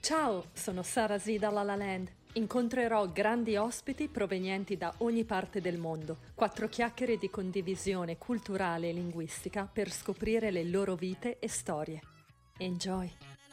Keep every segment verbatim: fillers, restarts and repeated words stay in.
Ciao, sono Sara Z da La La Land. Incontrerò grandi ospiti provenienti da ogni parte del mondo. Quattro chiacchiere di condivisione culturale e linguistica per scoprire le loro vite e storie. Enjoy!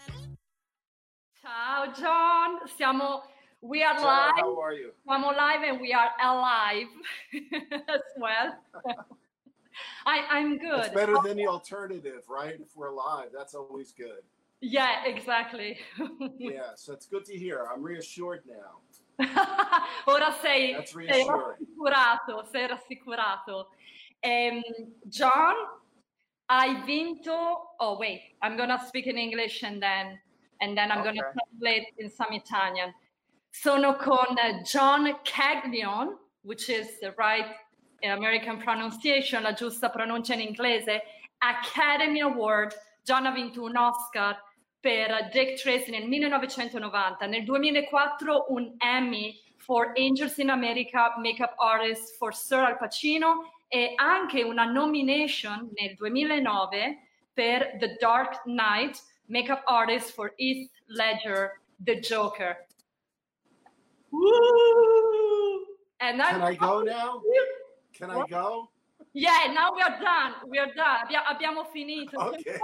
Ciao John, siamo we are Ciao, live. how are you? Siamo live and we are alive as well. I, I'm good. It's better than the alternative, right? If we're live, that's always good. Yeah, exactly. Yeah, so it's good to hear. I'm reassured now. Ora sei, That's sei reassuring. rassicurato, sei rassicurato. Um, John, hai vinto. Oh wait, I'm gonna speak in English and then and then I'm Okay. gonna translate in some Italian. Sono con John Caglione, which is the right American pronunciation, la giusta pronuncia in inglese. Academy Award. John ha vinto un Oscar per Dick Tracy nel millenovecentonovanta, nel duemilaquattro un Emmy for Angels in America Makeup Artist for Sir Al Pacino e anche una nomination nel duemilanove per The Dark Knight Makeup Artist for Heath Ledger, The Joker. Woo! And Can I go now? Can I go? Yeah, now we are done. We are done. Abbia- abbiamo finito. Okay.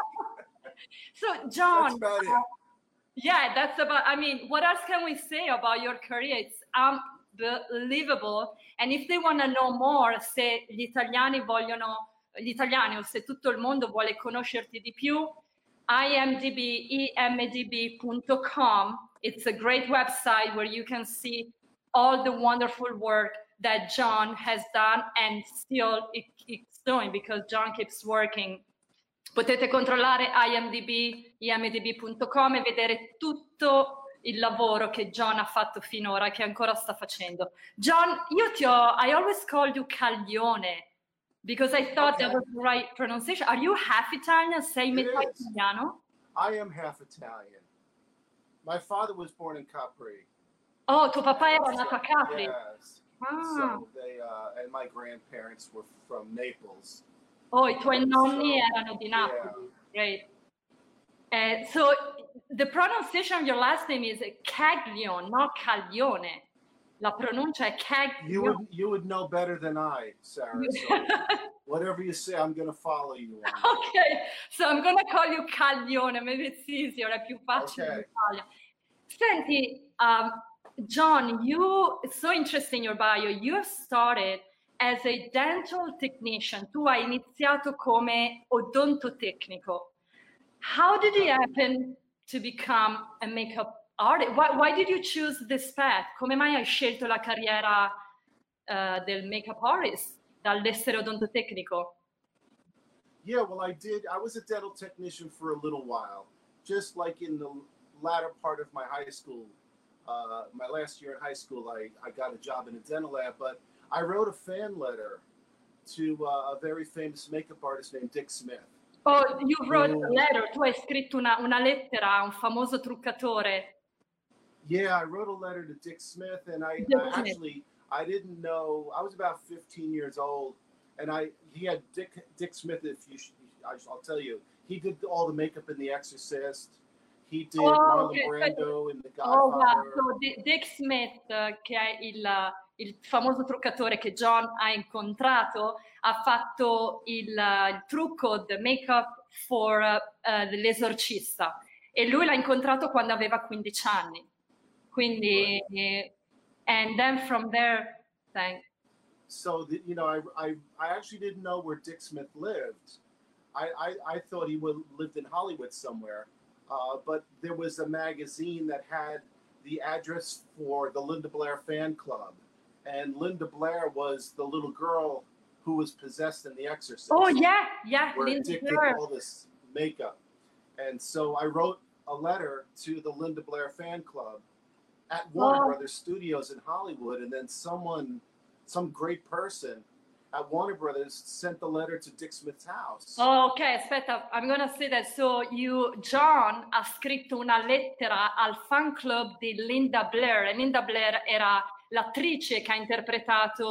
So, John, That's about it. uh, yeah, that's about, I mean, what else can we say about your career? It's unbelievable. And if they want to know more, se gli italiani vogliono, gli italiani o se tutto il mondo vuole conoscerti di più, I M D B, I M D B dot com. It's a great website where you can see all the wonderful work that John has done and still it keeps doing because John keeps working. Potete controllare I M D B, I M D B dot com e vedere tutto il lavoro che John ha fatto finora e che ancora sta facendo. John, io ti ho, I always called you Caglione because I thought Okay. that was the right pronunciation. Are you half Italian? Sei It metà is. italiano? I am half Italian. My father was born in Capri. Oh, tuo papà era So- nato a Capri. Yes. Ah. So they uh, and my grandparents were from Naples. Oh, i tuoi nonni So, erano di Napoli. Great. Uh, so the pronunciation of your last name is Caglione, not Caglione. La pronuncia è You Caglione. would you would know better than I, Sarah. So whatever you say, I'm going to follow you on. Okay, so I'm gonna call you Caglione. Maybe it's easier, è più facile in Okay. Italia. Senti, um, John, you, it's so interesting in your bio. You have started as a dental technician. Tu hai iniziato come odontotecnico. How did it happen to become a makeup artist? Why, why did you choose this path? Come mai hai scelto la carriera uh, del makeup artist dall'essere odontotecnico? Yeah, well, I did. I was a dental technician for a little while, just like in the latter part of my high school. Uh, my last year in high school, I, I got a job in a dental lab, but I wrote a fan letter to uh, a very famous makeup artist named Dick Smith. Oh, you wrote a Oh. letter. Tu hai scritto una, una lettera a un famoso truccatore. Yeah, I wrote a letter to Dick Smith, and I, Dick I Smith. actually I didn't know. I was about fifteen years old, and I he had Dick Dick Smith. If you, sh- I, I'll tell you, he did all the makeup in The Exorcist. He did Oh, Marlon okay. Brando in The Oh, wow. Godfather. So, Di- Dick Smith, eh, che è il, il famoso truccatore che John ha incontrato, ha fatto il, eh, il trucco, the makeup for eh, eh, l'esorcista. E lui l'ha incontrato quando aveva quindici anni. Quindi, eh, and then from there, thank So the, you know, I, I I actually didn't know where Dick Smith lived. I I, I thought he would lived in Hollywood somewhere, uh, but there was a magazine that had the address for the Linda Blair fan club, and Linda Blair was the little girl who was possessed in The Exorcist. Oh, yeah, yeah, Where Linda Dick did Blair. all this makeup, and so I wrote a letter to the Linda Blair fan club at Warner Oh. Brothers Studios in Hollywood, and then someone, some great person at Warner Brothers sent the letter to Dick Smith's house. Oh, ok, aspetta, I'm gonna say that. So you, John ha scritto una lettera al fan club di Linda Blair, e Linda Blair era l'attrice che ha interpretato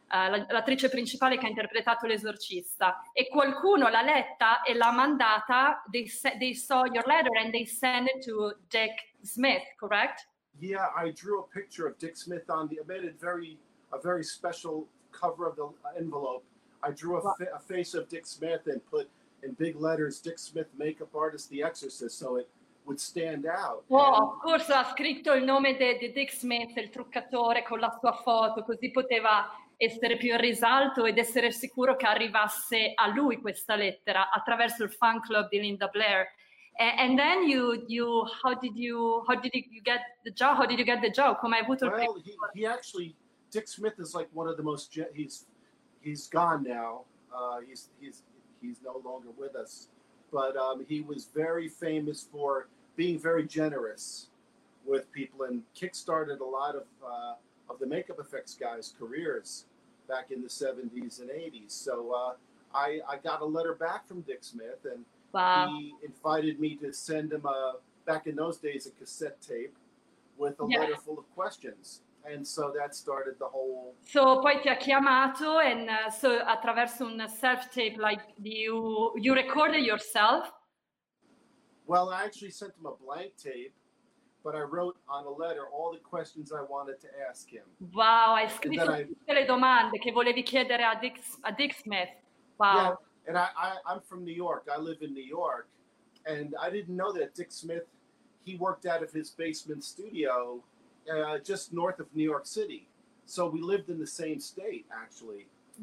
uh, l'attrice principale che ha interpretato l'esorcista, e qualcuno l'ha letta e l'ha mandata, they, they saw your letter and they sent it to Dick Smith, correct? Yeah, I drew a picture of Dick Smith on the, I made it very, a very special cover of the envelope. I drew a, fa a face of Dick Smith and put in big letters, Dick Smith, makeup artist, The Exorcist, so it would stand out. Oh, of course, ha scritto il nome di Dick Smith, il truccatore, con la sua foto, così poteva essere più in risalto ed essere sicuro che arrivasse a lui questa lettera attraverso il fan club di Linda Blair. And, and then you, you, how did you, how did you get the job? How did you get the job? Come hai avuto il Well, he, he actually, Dick Smith is like one of the most, he's, he's gone now. Uh, he's, he's, he's no longer with us. But um, he was very famous for being very generous with people and kickstarted a lot of uh, of the makeup effects guys' careers back in the seventies and eighties. So uh, I, I got a letter back from Dick Smith, and wow. he invited me to send him a, back in those days, a cassette tape with a yeah. letter full of questions. And so that started the whole... So poi ti ha chiamato, and uh, so attraverso un self-tape, like you, you recorded yourself? Well, I actually sent him a blank tape, but I wrote on a letter all the questions I wanted to ask him. Wow, hai scritto I, tutte le domande che volevi chiedere a Dick, a Dick Smith. Wow. Yeah, and I, I, I'm from New York. I live in New York. And I didn't know that Dick Smith, he worked out of his basement studio uh, just north of New York City. So we lived in the same state, actually.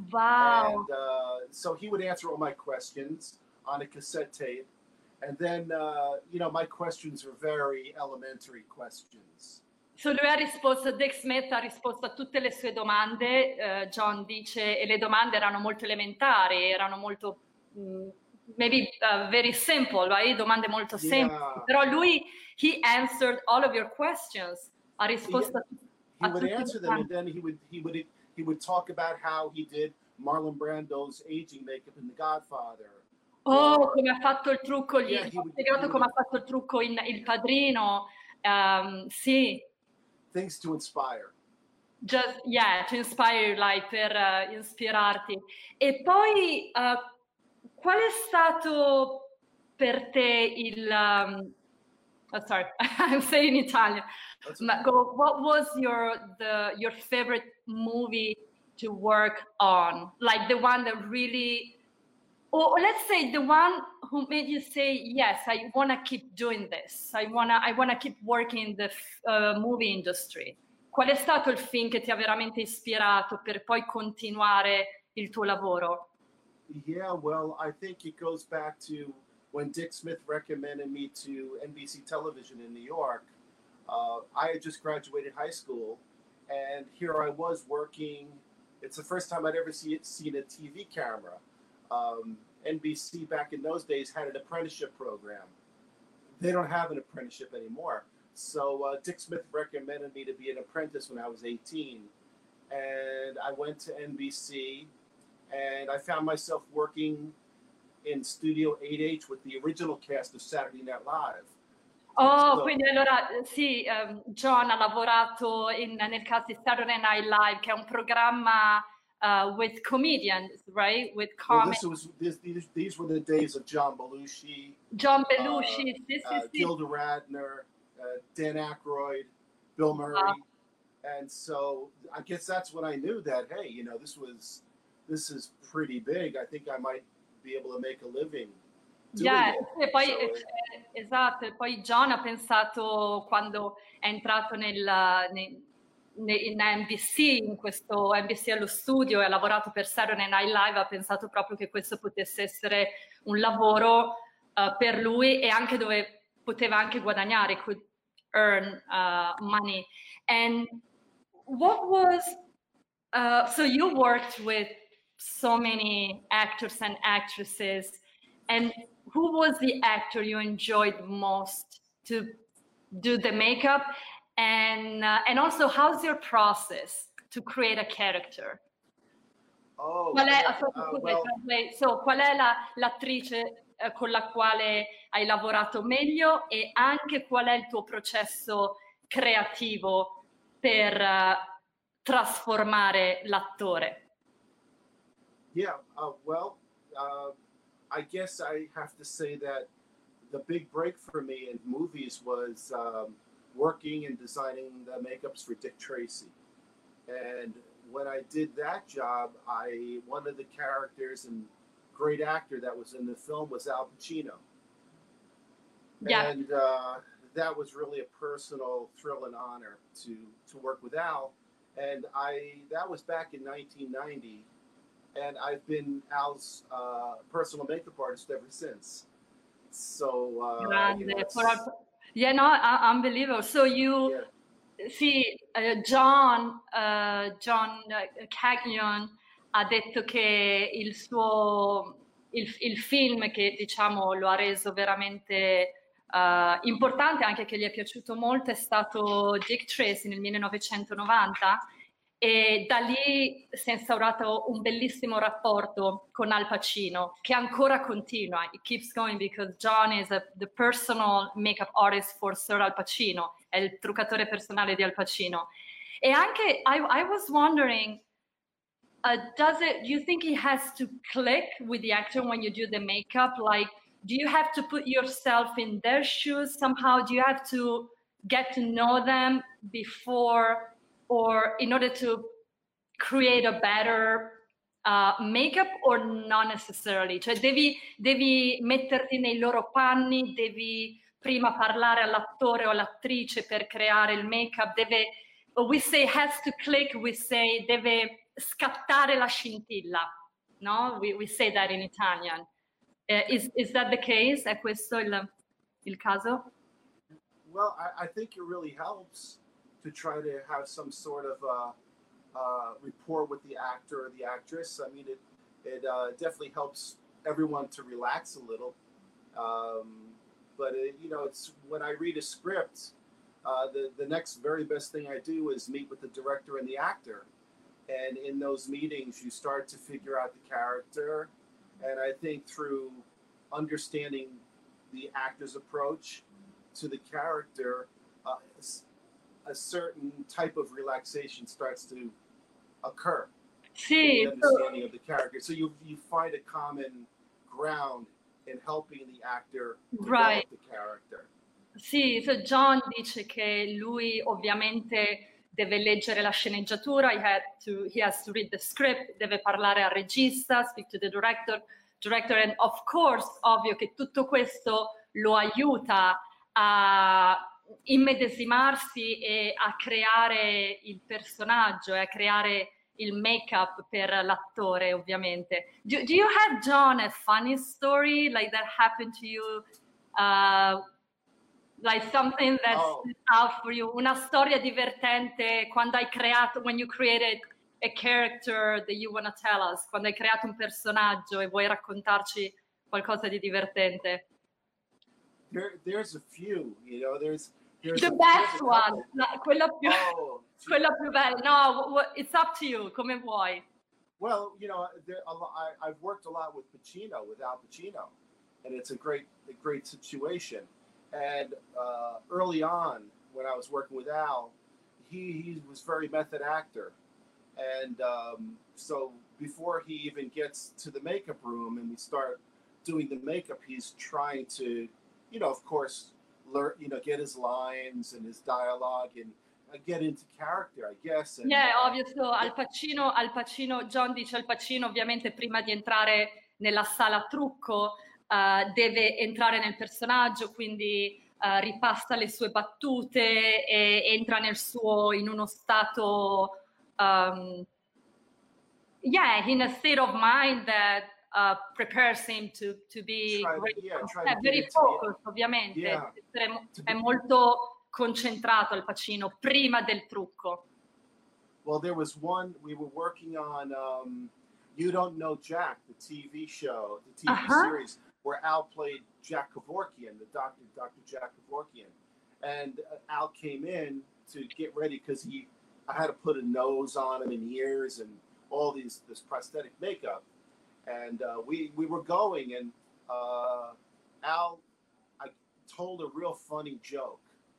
Wow. And uh, so he would answer all my questions on a cassette tape. And then, uh, you know, my questions were very elementary questions. So lui ha risposto, Dick Smith ha risposto a tutte le sue domande, uh, John dice, e le domande erano molto elementari, erano molto, mm, maybe uh, very simple, right? Domande molto semplici. Yeah. Però lui, he answered all of your questions. Ha risposto he, a, he would answer them, and then he would, he would, he would talk about how he did Marlon Brando's aging makeup in The Godfather. Oh, come ha fatto il trucco, gli yeah, ho spiegato come ha fatto il trucco in Il Padrino, um, sì. Things to inspire. Just, yeah, to inspire, like, per uh, ispirarti. E poi, uh, qual è stato per te il... Um, oh, sorry, I'm saying in Italian. Ma, what was your, the, your favorite movie to work on? Like the one that really... Or let's say the one who made you say, yes, I want to keep doing this. I want to I wanna keep working in the uh, movie industry. Qual è stato il film che ti ha veramente ispirato per poi continuare il tuo lavoro? Yeah, well, I think it goes back to when Dick Smith recommended me to N B C Television in New York. Uh, I had just graduated high school, and here I was working. It's the first time I'd ever see, seen a T V camera. Um, N B C back in those days had an apprenticeship program. They don't have an apprenticeship anymore. So uh, Dick Smith recommended me to be an apprentice when I was eighteen. And I went to N B C, and I found myself working in Studio eight H with the original cast of Saturday Night Live. Oh, so, quindi allora sì, um, John ha lavorato in, nel cast di Saturday Night Live, che è un programma... Uh, with comedians, right? With well, this was this, these these were the days of John Belushi, John Belushi, uh, sì, sì, uh, sì. Gilda Radner, uh, Dan Aykroyd, Bill Murray, uh, and so I guess that's when I knew that hey, you know, this was this is pretty big. I think I might be able to make a living. Yeah, e poi so, eh, esatto. E poi John ha pensato quando è entrato nel, nel in N B C, in questo N B C allo studio, e ha lavorato per Saturday Night Live, ha pensato proprio che questo potesse essere un lavoro uh, per lui, e anche dove poteva anche guadagnare, could earn uh, money. And what was, uh, so you worked with so many actors and actresses, and who was the actor you enjoyed most to do the makeup? And uh, and also, how's your process to create a character? Oh, qual è, yeah, so, uh, well, so, qual è la, l'attrice eh, con la quale hai lavorato meglio, e anche qual è il tuo processo creativo per uh, trasformare l'attore? Yeah, uh, well, uh, I guess I have to say that the big break for me in movies was um, working and designing the makeups for Dick Tracy. And when I did that job, I one of the characters and great actor that was in the film was Al Pacino. Yeah. And uh, that was really a personal thrill and honor to to work with Al. And I that was back in nineteen ninety, and I've been Al's uh, personal makeup artist ever since. So uh, you know, Grande. it's, For our- Yeah, no, uh, unbelievable. So you, yeah, sì, eh, John, eh, John eh, Cagnon ha detto che il suo, il, il film che diciamo lo ha reso veramente eh, importante, anche che gli è piaciuto molto, è stato Dick Tracy nel millenovecentonovanta. E da lì si è instaurato un bellissimo rapporto con Al Pacino, che ancora continua. It keeps going because John is a, the personal makeup artist for Sir Al Pacino, è il truccatore personale di Al Pacino. E anche, I, I was wondering, uh, does it, do you think it has to click with the actor when you do the makeup? Like, do you have to put yourself in their shoes somehow? Do you have to get to know them before, or in order to create a better uh, makeup, or not necessarily? Cioè devi, devi metterti nei loro panni, devi prima parlare all'attore o all'attrice per creare il make-up, deve, we say has to click, we say deve scattare la scintilla, no? We, we say that in Italian. Uh, is, is that the case? È questo il, il caso? well, I, I think it really helps to try to have some sort of uh, uh, rapport with the actor or the actress. I mean, it it uh, definitely helps everyone to relax a little. Um, but it, you know, it's when I read a script, uh, the the next very best thing I do is meet with the director and the actor, and in those meetings, you start to figure out the character, and I think through understanding the actor's approach to the character, uh, a certain type of relaxation starts to occur. Sì, The understanding of the character. So you you find a common ground in helping the actor develop right. the character. Sì, so John dice che lui ovviamente deve leggere la sceneggiatura, he, had to, he has to read the script, deve parlare al regista, speak to the director, director, and of course, ovvio che tutto questo lo aiuta a immedesimarsi e a creare il personaggio e a creare il make-up per l'attore, ovviamente. Do, do you have, John, a funny story like that happened to you? Uh, like something that Oh. stood out for you? Una storia divertente quando hai creato, when you created a character that you want to tell us, quando hai creato un personaggio e vuoi raccontarci qualcosa di divertente. There, there's a few, you know. There's, there's The a, best there's a one, couple. la- quella più, Oh, gee. quella più bella. No, wh- it's up to you, come vuoi. Well, you know, there, a lo- I, I've worked a lot with Pacino, with Al Pacino, and it's a great, a great situation. And uh, early on, when I was working with Al, he, he was very method actor, and um, so before he even gets to the makeup room and we start doing the makeup, he's trying to, you know, of course, learn, you know, get his lines and his dialogue and uh, get into character, I guess. And, Yeah, uh, ovvio, so Al Pacino, Al Pacino, John dice Al Pacino ovviamente prima di entrare nella sala trucco eh, deve entrare nel personaggio, quindi eh, ripassa le sue battute e entra nel suo, in uno stato, um, yeah, in a state of mind that uh, prepares him to, to be Try to- great. yeah, try to Eh, get very into the- focused, ovviamente. Yeah. Essere mo- To È be- molto concentrato Al Pacino prima del trucco. Well, there was one we were working on. Um, you Don't Know Jack, the T V show, the T V Uh-huh. series, where Al played Jack Kevorkian, the doctor, Doctor Jack Kevorkian, and uh, Al came in to get ready because he, I had to put a nose on him and ears and all these this prosthetic makeup, and uh, we we were going, and uh, Al, I told a real funny joke,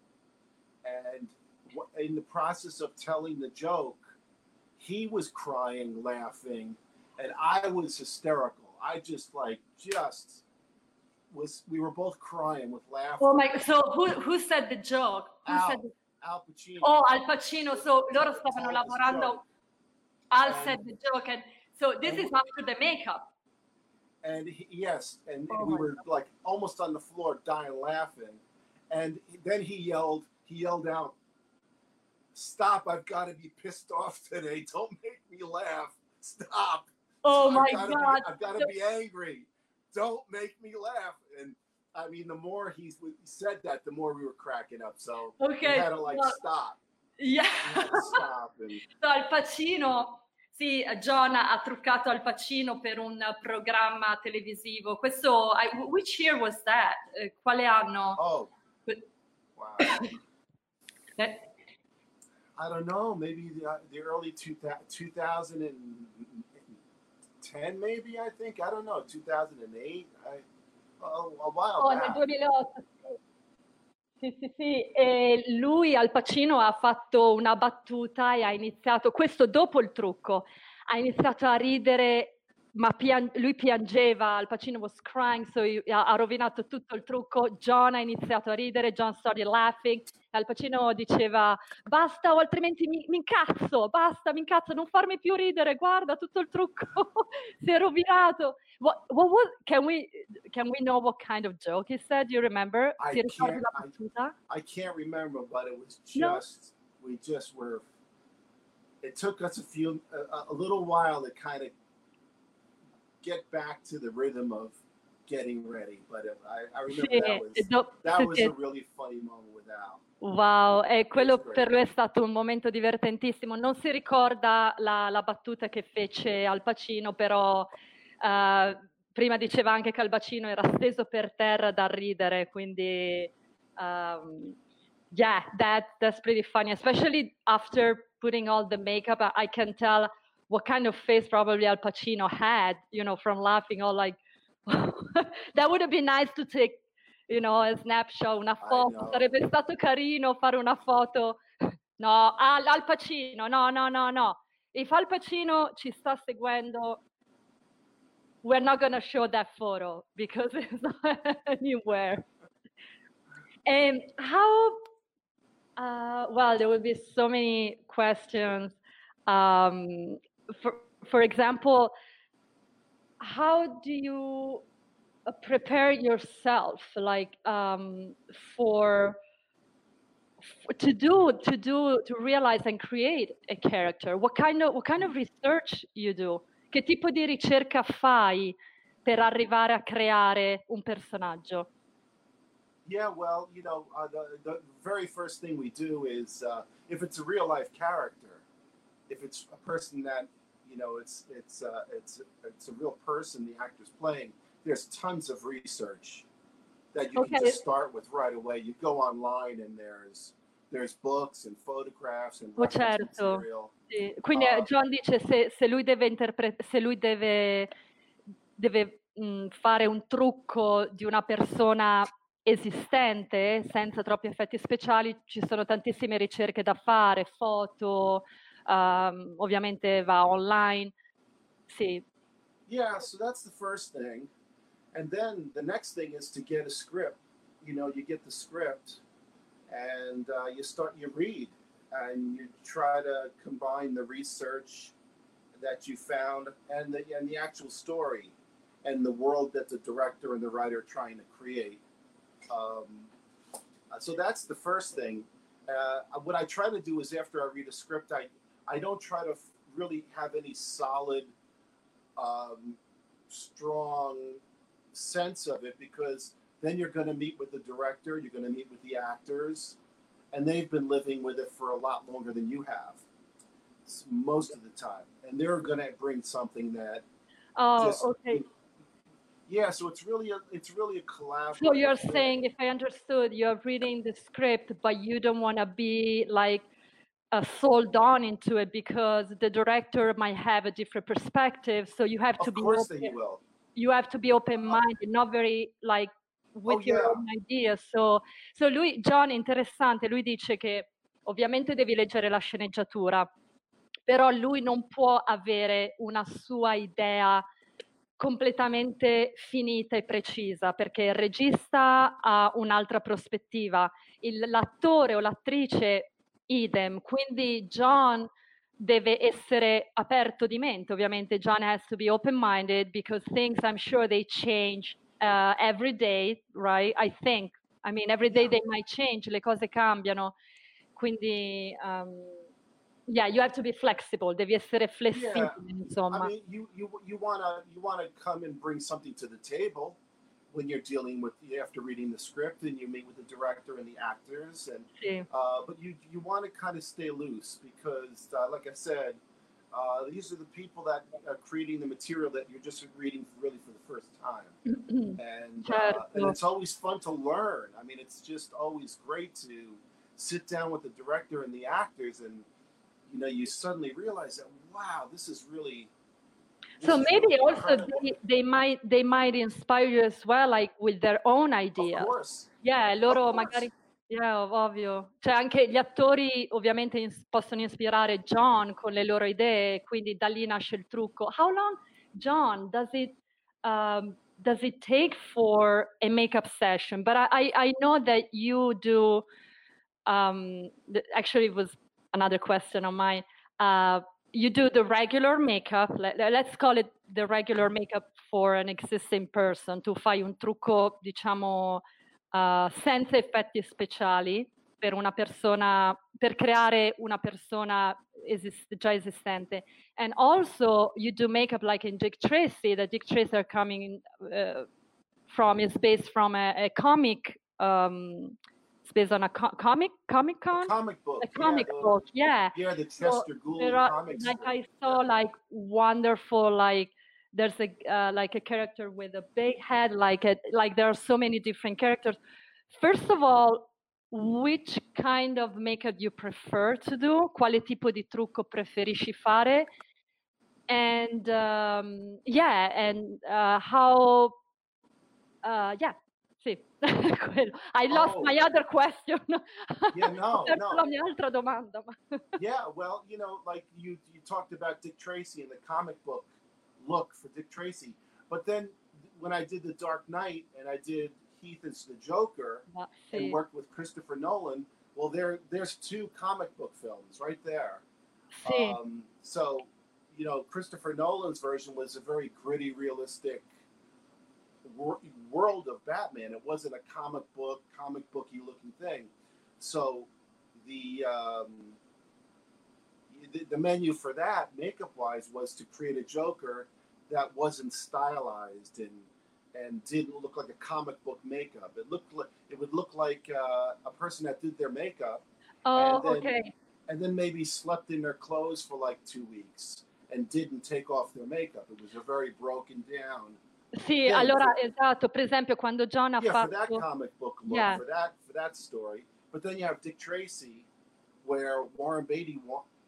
and in the process of telling the joke, he was crying, laughing, and I was hysterical. I just like just was. We were both crying with laughter. Oh my! So who who said the joke? Who Al, said the... Al Pacino. Oh, Al Pacino. So loro stavano lavorando. Joke. Al And, said the joke, and so this and, is after the makeup. And he, yes, and Oh we my were God. like almost on the floor, dying laughing. And then he yelled, he yelled out, "Stop! I've got to be pissed off today. Don't make me laugh. Stop! Oh my I've gotta God! Be, I've got to be angry. Don't make me laugh." And I mean, the more he said that, the more we were cracking up. So Okay, we had to like well, stop. Yeah. We had to stop. And, So, Al Pacino, sì, John ha truccato Al Pacino per un programma televisivo. Questo, I, which year was that? Eh, quale anno? oh, wow. Eh, I don't know, maybe the, uh, the early two thousand ten, maybe, I think. I don't know, two thousand eight. I, oh, a while Oh, nel back. duemilaotto. Sì, sì, sì. E lui, Al Pacino, ha fatto una battuta e ha iniziato, questo dopo il trucco, ha iniziato a ridere, ma pian- lui piangeva, Al Pacino was crying, so ha, ha rovinato tutto il trucco. John ha iniziato a ridere, John started laughing, e Al Pacino diceva basta o altrimenti mi, mi incazzo, basta, mi incazzo, non farmi più ridere, guarda tutto il trucco, si è rovinato. What, what was, can we, can we know what kind of joke he said? Do you remember? I Ti ricordi can't, la battuta? I, I can't remember, but it was No. just, we just were, it took us a few, a, a little while to kind of get back to the rhythm of getting ready. But it, I, I remember Sì, that was, do- that was sì, a really funny moment with Al. wow, e quello That's great. per lui è stato un momento divertentissimo. Non si ricorda la, la battuta che fece Al Pacino, però eh, prima diceva anche che Al Pacino era steso per terra da ridere, quindi um, yeah, that, that's pretty funny, especially after putting all the makeup. I, I can tell what kind of face probably Al Pacino had, you know, from laughing, all like, that would have been nice to take, you know, a snapshot, una foto, sarebbe stato carino fare una foto. No, Al, Al Pacino, no, no, no, no. If Al Pacino ci sta seguendo, we're not going to show that photo because it's not anywhere. And how, uh, well, there will be so many questions. Um, for, for example, how do you prepare yourself, like, um, for, for to do to do to realize and create a character? What kind of what kind of research you do? Che tipo di ricerca fai per arrivare a creare un personaggio? Yeah, well, you know, uh, the, the very first thing we do is uh, if it's a real life character, if it's a person that, you know, it's it's uh, it's it's a real person the actor's playing, there's tons of research that you Okay. can just start with right away. You go online and there's there's books and photographs and Oh, reference certo. material. Sì. Quindi Uh, John dice se, se lui deve interpre- se lui deve, deve mh, fare un trucco di una persona esistente senza troppi effetti speciali, ci sono tantissime ricerche da fare, foto, um, ovviamente va online. Sì. Yeah, so that's the first thing. And then the next thing is to get a script. You know, you get the script and uh, you start, you read and you try to combine the research that you found and the, and the actual story and the world that the director and the writer are trying to create. Um, so that's the first thing. Uh, what I try to do is after I read a script, I, I don't try to f- really have any solid, um, strong sense of it, because then you're going to meet with the director, you're going to meet with the actors, and they've been living with it for a lot longer than you have, most of the time, and they're going to bring something that Oh, just, okay. yeah, so it's really a, it's really a collaborative So you're thing. saying, if I understood, you're reading the script, but you don't want to be like uh, sold on into it because the director might have a different perspective. So you have to Of be course open, that he will. you have to be open-minded, not very like with Oh, your yeah. own ideas. So, so lui, John, interessante, lui dice che ovviamente devi leggere la sceneggiatura, però lui non può avere una sua idea completamente finita e precisa, perché il regista ha un'altra prospettiva, il, l'attore o l'attrice idem, quindi John deve essere aperto di mente, ovviamente John has to be open-minded because things I'm sure they change uh, every day, right? I think, I mean every day they might change, le cose cambiano, quindi um, yeah, you have to be flexible, devi essere flessibile, Yeah. insomma. I mean, you you you wanna you wanna come and bring something to the table when you're dealing with after reading the script and you meet with the director and the actors, and Sì. uh, but you you want to kind of stay loose because, uh, like I said, uh, these are the people that are creating the material that you're just reading really for the first time, and Certo. uh, and it's always fun to learn. I mean, it's just always great to sit down with the director and the actors and. You know, you suddenly realize that, wow, this is really. This So is maybe really also they, they might they might inspire you as well, like with their own ideas. Of course. Yeah, loro Of course. magari. Yeah, ovvio. Cioè anche gli attori ovviamente ins- possono ispirare John con le loro idee, quindi da lì nasce il trucco. How long, John, does it um, does it take for a makeup session? But I I, I know that you do. Um, th- actually, it was another question on mine. Uh, you do the regular makeup, let, let's call it the regular makeup for an existing person. Tu fai un trucco, diciamo, uh, senza effetti speciali per una persona, per creare una persona esist- già esistente. And also you do makeup like in Dick Tracy. The Dick Tracy are coming in, uh, from, is based from a, a comic, um, it's based on a co- comic, Comic Con? A comic book. A comic yeah, the, book, yeah. Yeah, the So Chester Gould there are, comic like strip. I saw Yeah. like wonderful, like there's a uh, like a character with a big head, like a, like there are so many different characters. First of all, which kind of makeup you prefer to do? Quale tipo di trucco preferisci fare? And um, yeah, and uh, how uh, yeah, sì, quello. I lost Oh. my other question. Yeah, no, Ho perso no. la mia altra domanda. ma- Yeah, well, you know, like you you talked about Dick Tracy and the comic book look for Dick Tracy, but then when I did The Dark Knight and I did Heath as the Joker Ma and sì, worked with Christopher Nolan, well, there there's two comic book films right there. sì. Um, so, you know, Christopher Nolan's version was a very gritty, realistic wor- world of Batman. It wasn't a comic book, comic booky looking thing. So, the um, the, the menu for that, makeup wise, was to create a Joker that wasn't stylized and and didn't look like a comic book makeup. It looked like it would look like uh, a person that did their makeup. Oh, and then, ok. And then maybe slept in their clothes for like two weeks and didn't take off their makeup. It was a very broken down. Sì, thing. allora For, esatto, per esempio quando John ha yeah, fatto... for that comic book look, Yeah. for that for that story. But then you have Dick Tracy, where Warren Beatty,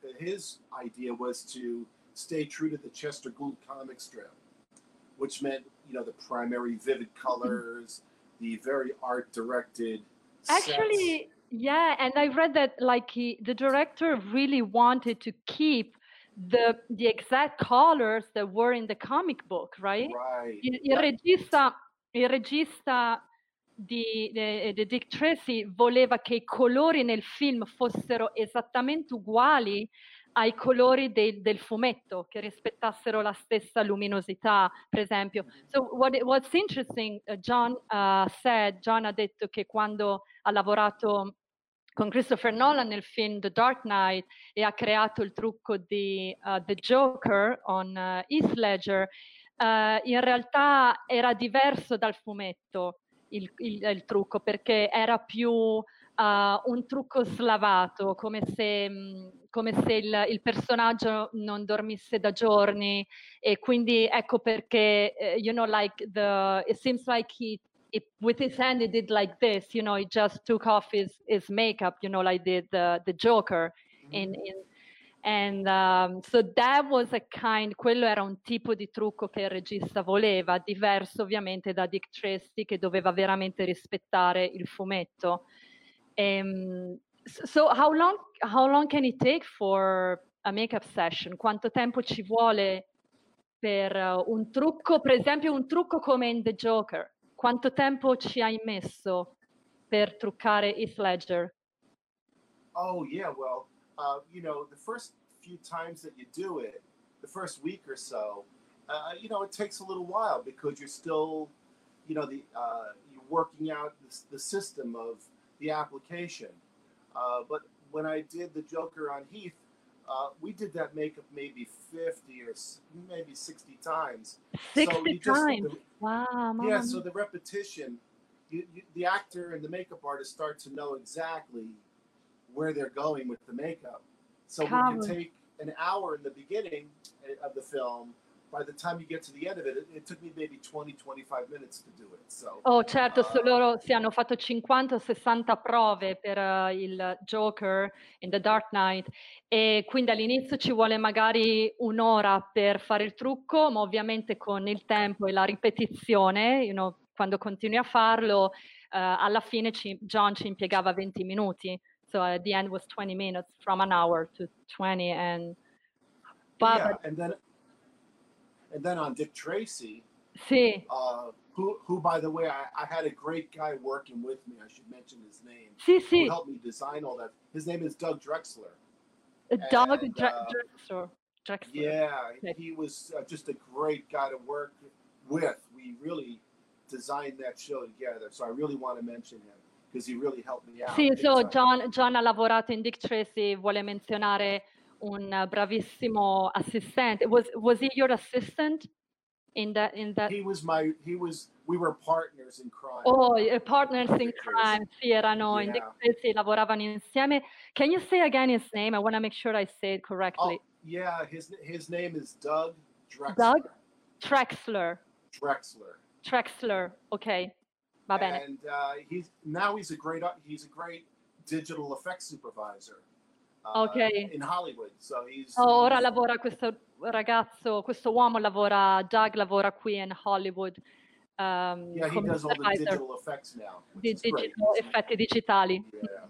his idea was to stay true to the Chester Gould comic strip, which meant, you know, the primary vivid colors, the very art directed. Actually, yeah, and I read that like he, the director really wanted to keep the the exact colors that were in the comic book, right? Right. Il, il Yep. regista, il regista di, di, di Dick Tracy voleva che i colori nel film fossero esattamente uguali ai colori del, del fumetto, che rispettassero la stessa luminosità, per esempio. So what, what's interesting, uh, John uh, said, John ha detto che quando ha lavorato con Christopher Nolan nel film The Dark Knight e ha creato il trucco di uh, The Joker on uh, Heath Ledger, uh, in realtà era diverso dal fumetto il, il, il trucco, perché era più uh, un trucco slavato, come se, mh, come se il, il personaggio non dormisse da giorni, e quindi ecco perché, uh, you know, like the, it seems like he It, with his hand, he did like this, you know, he just took off his, his makeup, you know, like the, the, the Joker. Mm-hmm. in, in, and um, so that was a kind, quello era un tipo di trucco che il regista voleva, diverso ovviamente da Dick Tracy, che doveva veramente rispettare il fumetto. Um, so how long, how long can it take for a makeup session? Quanto tempo ci vuole per uh, un trucco, per esempio un trucco come in The Joker? Quanto tempo ci hai messo per truccare Heath Ledger? Oh yeah, well, uh, you know, the first few times that you do it, the first week or so, uh, you know, it takes a little while because you're still, you know, the uh, you're working out the, the system of the application. Uh, but when I did the Joker on Heath, uh, we did that makeup maybe fifty or maybe sixty times. sixty so you just, times? The, wow, yeah, mama. so the repetition, you, you, the actor and the makeup artist start to know exactly where they're going with the makeup. So we can take an hour in the beginning of the film. By the time you get to the end of it, it, it took me maybe twenty twenty-five minutes to do it. So, oh certo, uh, loro si hanno fatto cinquanta o sessanta prove per uh, il Joker in The Dark Knight e quindi all'inizio ci vuole magari un'ora per fare il trucco, ma ovviamente con il tempo e la ripetizione, you know, quando continui a farlo, uh, alla fine ci, John ci impiegava venti minuti. So at the end was twenty minutes, from an hour to twenty, and yeah, but, and then and then on Dick Tracy, sì. uh, who who by the way, I, I had a great guy working with me. I should mention his name. Sì, sì. Who helped me design all that. His name is Doug Drexler. Doug and, Dre- uh, Drexler. Drexler. Yeah, okay. he was uh, just a great guy to work with. We really designed that show together, so I really want to mention him. Because he really helped me out. Sì, so John, John ha lavorato in Dick Tracy, vuole menzionare un bravissimo assistente. Was was he your assistant in that in that? He was my he was we were partners in crime. Oh, partners in crime. Sì, erano yeah. in Dick Tracy, lavoravano insieme. Can you say again his name? I want to make sure I say it correctly. Oh, yeah, his his name is Doug Drexler. Doug Drexler. Drexler. Drexler. Okay. Va bene. And uh, he's now he's a great he's a great digital effects supervisor uh, okay. in Hollywood. So he's oh, ora lavora questo ragazzo, questo uomo lavora, Doug lavora qui in Hollywood. Um, yeah, he does all the digital effects now. Di digital, effetti digitali. Yeah.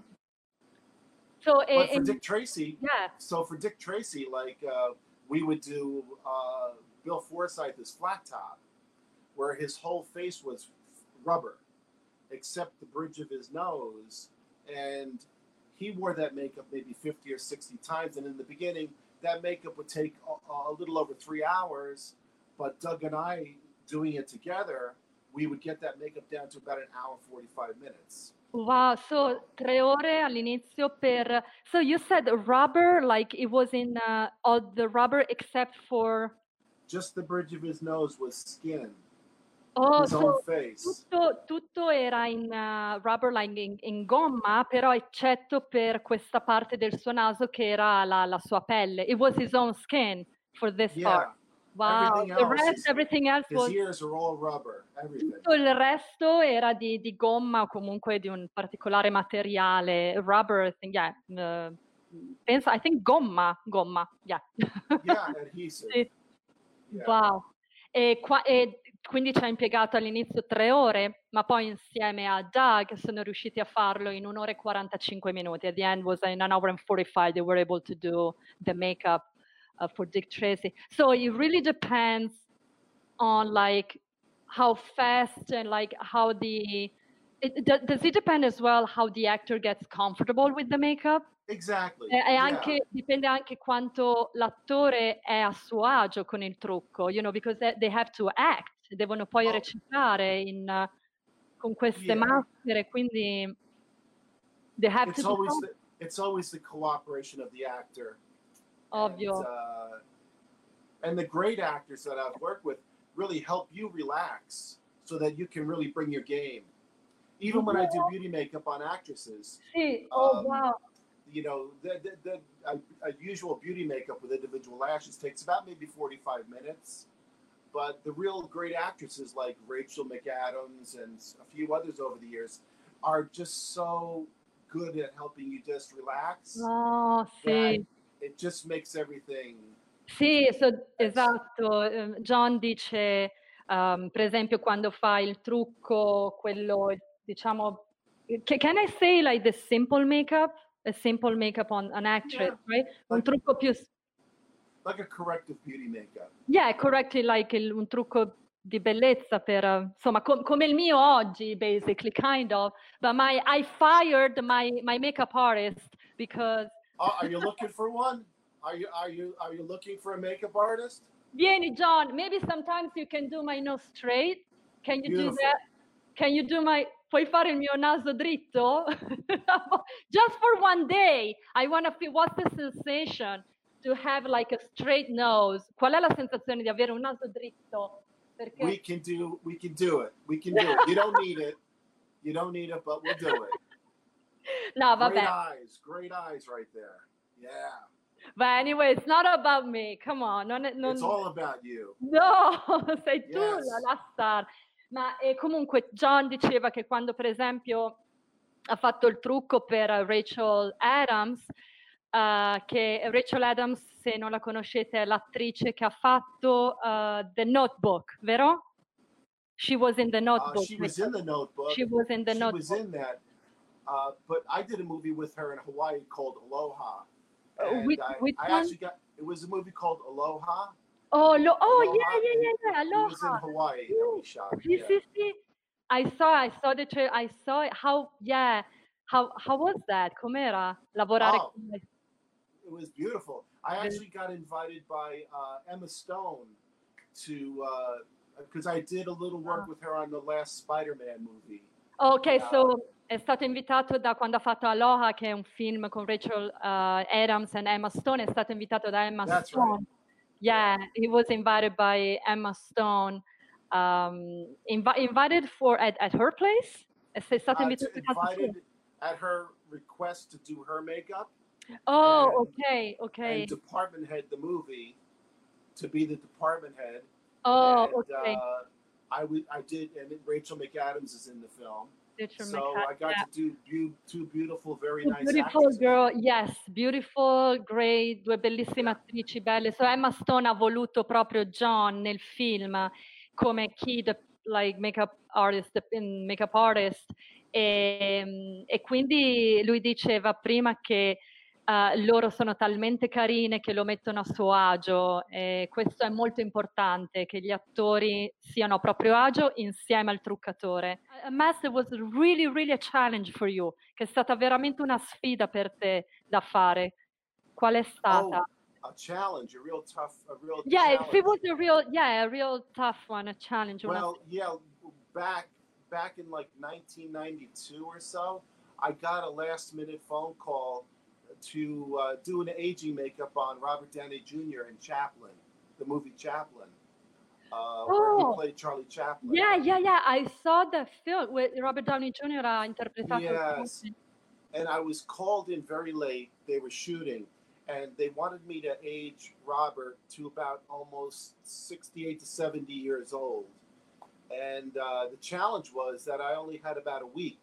So, but e, for Dick Tracy, yeah. So for Dick Tracy, like uh, we would do uh, Bill Forsyth's Flat Top, where his whole face was rubber, except the bridge of his nose, and he wore that makeup maybe fifty or sixty times. And in the beginning, that makeup would take a, a little over three hours, but Doug and I doing it together, we would get that makeup down to about an hour forty-five minutes. Wow, so tre ore all'inizio per... So you said rubber, like it was in uh, all the rubber except for... Just the bridge of his nose was skin. Oh, his so own face. Tutto, tutto era in uh, rubber, like in, in gomma, però eccetto per questa parte del suo naso che era la, la sua pelle. It was his own skin for this yeah. part. Wow, everything the else, rest, his, everything else his was... ears are all rubber, everything. Tutto il resto era di, di gomma o comunque di un particolare materiale. Rubber, I think, yeah. Uh, penso, I think gomma, gomma, yeah. Yeah, adhesive. Sì. Yeah. Wow. E, qua, e quindi ci ha impiegato all'inizio tre ore, ma poi insieme a Doug sono riusciti a farlo in un'ora e quarantacinque minuti. At the end was in an hour and forty-five, they were able to do the makeup uh, for Dick Tracy. So it really depends on like how fast and like how the, it, does it depend as well how the actor gets comfortable with the makeup? Exactly. E, e yeah. anche, dipende anche quanto l'attore è a suo agio con il trucco, you know, because they, they have to act, devono poi oh. recitare in, uh, con queste yeah. maschere, quindi they have it's to always the, it's always the cooperation of the actor. Ovvio. And, uh, and the great actors that I've worked with really help you relax so that you can really bring your game. Even when I do beauty makeup on actresses. Sì. Oh, um, wow. You know, the, the, the a, a usual beauty makeup with individual lashes takes about maybe forty-five minutes. But the real great actresses like Rachel McAdams and a few others over the years are just so good at helping you just relax. Oh, sì. It just makes everything. Sì, so, esatto. John dice, um, per esempio, quando fa il trucco, quello, diciamo, can I say like the simple makeup? A simple makeup on an actress, yeah. right? Un like, trucco più like a corrective beauty makeup. Yeah, correctly, like il, un trucco di bellezza per, uh, insomma, com- come il mio oggi, basically, kind of. But my, I fired my, my makeup artist because... Oh, are you looking for one? Are you, are you, are you looking for a makeup artist? Vieni, John, maybe sometimes you can do my nose straight. Can you Beautiful. do that? Can you do my... Puoi fare il mio naso dritto? Just for one day. I want to feel, what's the sensation to have like a straight nose? Qual è la sensazione di avere un naso dritto? Perché... We can do, we can do it. We can do it. You don't need it. You don't need it, but we'll do it. No, vabbè. Great eyes, great eyes right there. Yeah. But anyway, it's not about me. Come on. Non, non... It's all about you. No, sei tu Yes. la, la star. Ma e comunque John diceva che quando per esempio ha fatto il trucco per Rachel Adams, uh, che Rachel Adams, se non la conoscete, è l'attrice che ha fatto uh, The Notebook, vero? She was in The Notebook. Uh, she was in The Notebook. She was in The she Notebook. was in that. Uh, but I did a movie with her in Hawaii called Aloha. Uh, And which, I, which I one? actually got, it was a movie called Aloha. Oh, lo, oh Aloha, yeah, yeah, yeah, yeah, It was in Aloha. Hawaii that we shot. Sì, yeah. sì, sì. I saw, I saw the trailer, I saw it. How, yeah. How, how was that? Com'era lavorare Oh. con lei? It was beautiful. I actually got invited by uh, Emma Stone to, because uh, I did a little work with her on the last Spider-Man movie. Ok, Uh, so è stato invitato da quando ha fatto Aloha, che è un film con Rachel uh, Adams e Emma Stone, è stato invitato da Emma That's Stone. right. Yeah, he was invited by Emma Stone. Um, invi- invited for at, at her place? È stato Uh, invitato to a casa sua? invited at her request to do her makeup. Oh, and- ok, ok. And department head the movie to be the department head. Oh, and, ok. uh, I would, I did, and Rachel McAdams is in the film. Rachel So McAdams, I got yeah. to do beau- two beautiful, very Two nice beautiful actors. girl, yes, beautiful, great, due bellissime attrici belle. So Emma Stone ha voluto proprio John nel film come kid, like makeup artist, in makeup artist. E, e quindi lui diceva prima che uh, loro sono talmente carine che lo mettono a suo agio, e questo è molto importante, che gli attori siano a proprio agio insieme al truccatore. A Master was really, really a challenge for you, che è stata veramente una sfida per te da fare. Qual è stata? Oh, a challenge, a real tough, a real Yeah, if challenge. it was a real, yeah, a real tough one, a challenge. una Well, yeah, back back in like nineteen ninety-two or so, I got a last minute phone call to uh, do an aging makeup on Robert Downey Junior in Chaplin, the movie Chaplin, uh, where Oh. he played Charlie Chaplin. Yeah, yeah, yeah. I saw the film with Robert Downey Junior ha interpretato. Yes. And I was called in very late. They were shooting, and they wanted me to age Robert to about almost sixty-eight to seventy years old. And uh, the challenge was that I only had about a week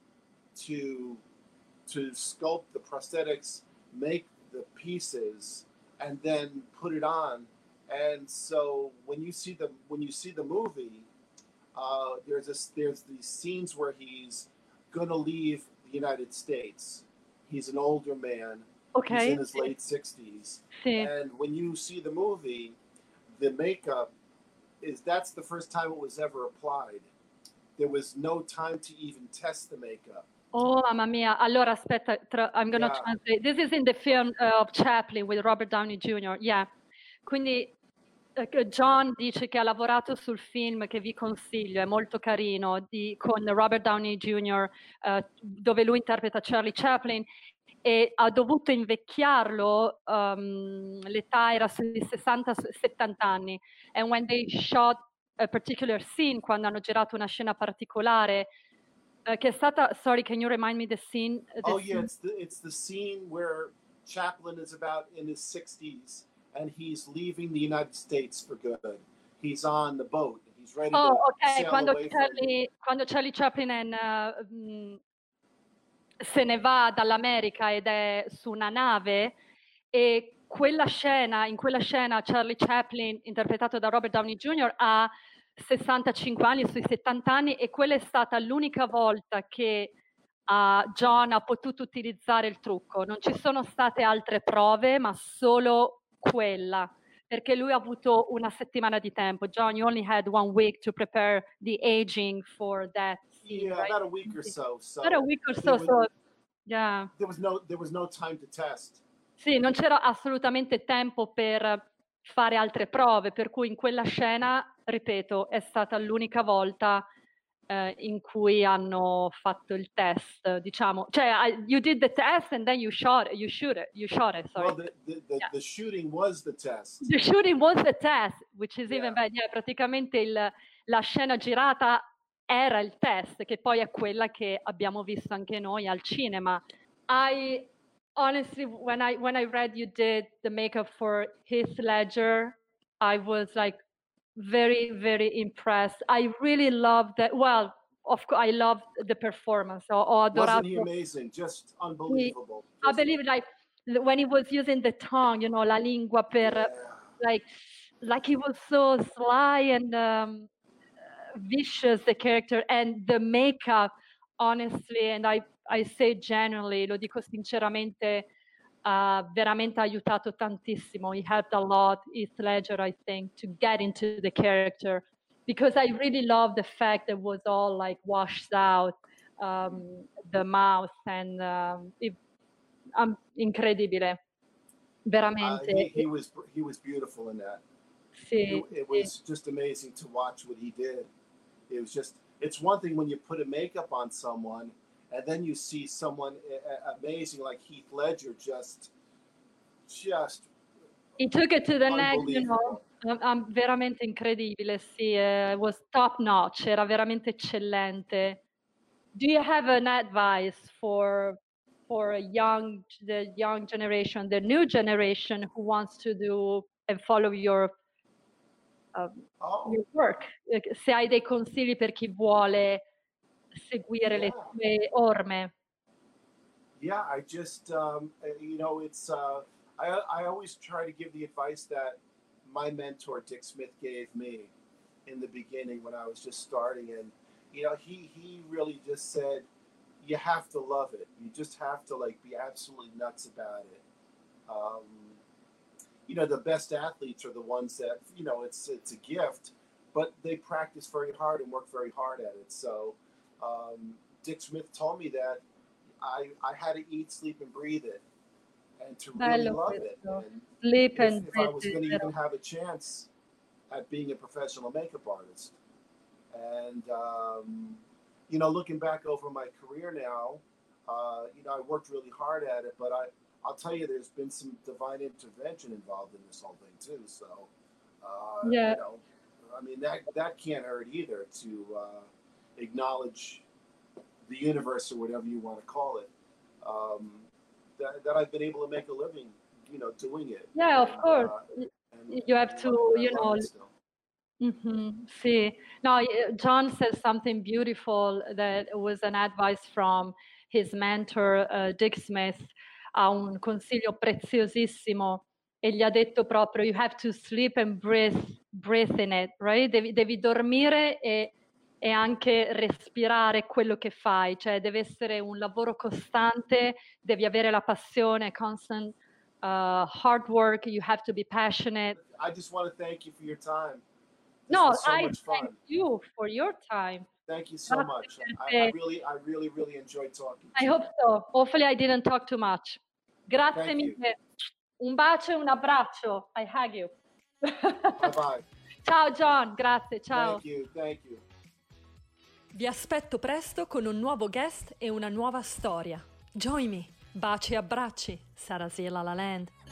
to to sculpt the prosthetics, make the pieces, and then put it on. And so when you see the when you see the movie, uh, there's this there's these scenes where he's gonna leave the United States. He's an older man. Ok. He's in his late sixties. Sì. And when you see the movie, the makeup is that's the first time it was ever applied. There was no time to even test the makeup. Oh, mamma mia. Allora, aspetta, tra- I'm going to Yeah. translate. This is in the film uh, of Chaplin with Robert Downey Junior Yeah. Quindi eh, John dice che ha lavorato sul film che vi consiglio, è molto carino, di, con Robert Downey Junior, eh, dove lui interpreta Charlie Chaplin, e ha dovuto invecchiarlo, um, l'età era sui sessanta settanta anni. And when they shot a particular scene, quando hanno girato una scena particolare, uh, che è stata, sorry, can you remind me the scene? the Oh yeah, scene? it's the it's the scene where Chaplin is about in his sixties and he's leaving the United States for good. He's on the boat. He's ready Oh, to ok, sail quando away from Charlie, quando Charlie Chaplin è in, uh, mm, se ne va dall'America ed è su una nave, e quella scena, in quella scena Charlie Chaplin, interpretato da Robert Downey Junior, ha sessantacinque anni, sui settanta anni, e quella è stata l'unica volta che uh, John ha potuto utilizzare il trucco. Non ci sono state altre prove, ma solo quella, perché lui ha avuto una settimana di tempo. John, you only had one week to prepare the aging for that scene, Yeah, right? about a week or so. So About a week or so, there was, so yeah. there was no there was no time to test. Sì, non c'era assolutamente tempo per fare altre prove, per cui in quella scena, ripeto, è stata l'unica volta eh, in cui hanno fatto il test, diciamo, cioè I- you did the test and then you shot it, you shoot it, you shot it, sorry. Well, the the, the, Yeah. the shooting was the test. The shooting was the test, which is even Yeah. better. Yeah, praticamente il- la scena girata era il test, che poi è quella che abbiamo visto anche noi al cinema. I honestly, when I when I read you did the makeup for Heath Ledger, I was like very very impressed. I really loved that. Well, of course, I loved the performance. Ho, ho adorato. Wasn't he amazing? Just Sì, unbelievable. I Just, believe like l- when he was using the tongue, you know, la lingua per yeah. like like he was so sly and um, vicious, the character, and the makeup, honestly, and I I say genuinely, lo dico sinceramente, ha veramente aiutato tantissimo. He helped a lot, Heath Ledger, I think, to get into the character, because I really love the fact that it was all like washed out, um, the mouth, and um, it, um, incredibile, Uh, veramente. he, he was he was beautiful in that. Sì, It, it sì. was just amazing to watch what he did. It was just, it's one thing when you put a makeup on someone and then you see someone uh, amazing like Heath Ledger, just, just He took it to the next, you know, unbelievable. um, um, veramente incredibile, sì, eh, was top notch, era veramente eccellente. Do you have an advice for for a young the young generation, the new generation who wants to do and follow your um, Oh, your work? Eh, Se hai dei consigli per chi vuole seguire le yeah. tue orme. Yeah, I just, um, uh, you know, it's, uh, I, I always try to give the advice that my mentor, Dick Smith, gave me in the beginning when I was just starting. And, you know, he, he really just said, you have to love it. You just have to, like, be absolutely nuts about it. Um, you know, the best athletes are the ones that, you know, it's, it's a gift, but they practice very hard and work very hard at it. So um, Dick Smith told me that I, I had to eat, sleep, and breathe it, and to really Bello love it. questo. And Sleep if, and if I breathe was it, going to vero? even have a chance at being a professional makeup artist. And, um, you know, looking back over my career now, uh, you know, I worked really hard at it, but I, I'll tell you, there's been some divine intervention involved in this whole thing too. So, uh, Yeah. you know, I mean, that, that can't hurt either, to uh, acknowledge the universe or whatever you want to call it, um, that, that I've been able to make a living, you know, doing it. Yeah, of And, course. uh, and, You have and to, lo- and I you love know. it still. Mhm, sì. No, eh, John says something beautiful that was an advice from his mentor, uh, Dick Smith, ha un consiglio preziosissimo e gli ha detto proprio you have to sleep and breathe, breathe in it, right? Devi, devi dormire e, e anche respirare quello che fai, cioè deve essere un lavoro costante, devi avere la passione, constant uh, hard work, you have to be passionate. I just want to thank you for your time. This No, was so I much thank fun. you for your time. Thank you so Grazie much. per I, te. I really, I really, really enjoyed talking. I to hope so. Hopefully I didn't talk too much. Grazie Thank you. mille. Un bacio e un abbraccio. I hug you. Bye bye. Ciao John, grazie, ciao. Thank you. Thank you. Vi aspetto presto con un nuovo guest e una nuova storia. Join me. Baci e abbracci. Sarasiela La Land.